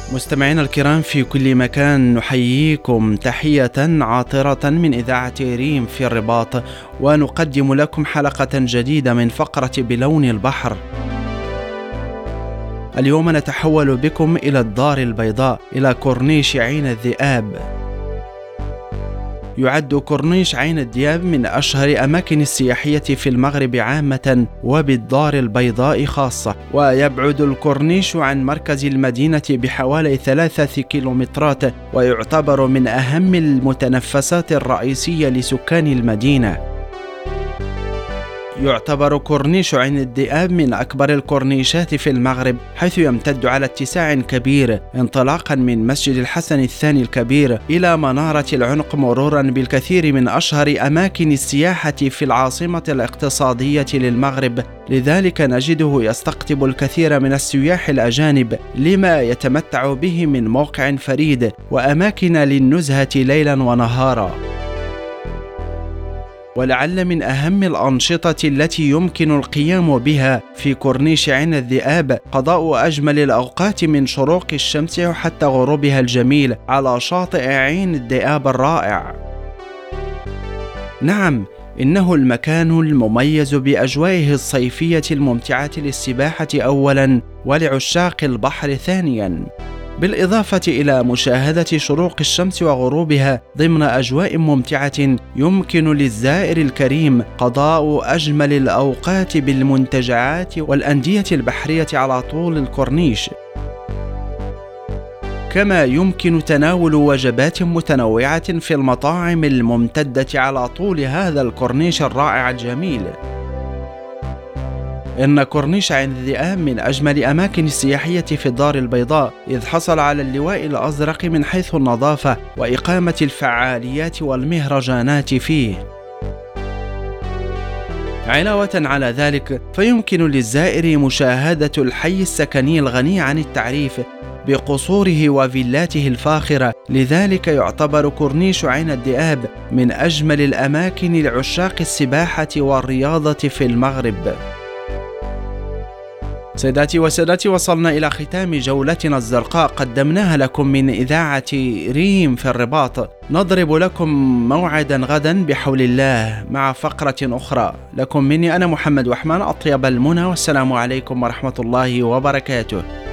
مستمعينا الكرام في كل مكان، نحييكم تحية عاطرة من إذاعة ريم في الرباط، ونقدم لكم حلقة جديدة من فقرة بلون البحر. اليوم نتحول بكم إلى الدار البيضاء، إلى كورنيش عين الذئاب. يعد كورنيش عين الذئاب من أشهر أماكن السياحية في المغرب عامة وبالدار البيضاء خاصة، ويبعد الكورنيش عن مركز المدينة بحوالي 3 كيلومترات، ويعتبر من أهم المتنفسات الرئيسية لسكان المدينة. يعتبر كورنيش عين الذئاب من أكبر الكورنيشات في المغرب، حيث يمتد على اتساع كبير، انطلاقا من مسجد الحسن الثاني الكبير إلى منارة العنق، مرورا بالكثير من أشهر أماكن السياحة في العاصمة الاقتصادية للمغرب. لذلك نجده يستقطب الكثير من السياح الأجانب، لما يتمتع به من موقع فريد وأماكن للنزهة ليلا ونهارا. ولعل من أهم الأنشطة التي يمكن القيام بها في كورنيش عين الذئاب قضاء أجمل الأوقات من شروق الشمس حتى غروبها الجميل على شاطئ عين الذئاب الرائع. نعم، إنه المكان المميز بأجوائه الصيفية الممتعة للسباحة أولا، ولعشاق البحر ثانيا، بالإضافة إلى مشاهدة شروق الشمس وغروبها ضمن أجواء ممتعة. يمكن للزائر الكريم قضاء أجمل الأوقات بالمنتجعات والأندية البحرية على طول الكورنيش، كما يمكن تناول وجبات متنوعة في المطاعم الممتدة على طول هذا الكورنيش الرائع الجميل. إن كورنيش عين الذئاب من أجمل أماكن السياحية في الدار البيضاء، إذ حصل على اللواء الأزرق من حيث النظافة وإقامة الفعاليات والمهرجانات فيه. علاوة على ذلك، فيمكن للزائر مشاهدة الحي السكني الغني عن التعريف بقصوره وفيلاته الفاخرة. لذلك يعتبر كورنيش عين الذئاب من أجمل الأماكن لعشاق السباحة والرياضة في المغرب. سيداتي وسادتي، وصلنا إلى ختام جولتنا الزرقاء قدمناها لكم من إذاعة ريم في الرباط. نضرب لكم موعدا غدا بحول الله مع فقرة أخرى. لكم مني أنا محمد وحمان أطيب المنى، والسلام عليكم ورحمة الله وبركاته.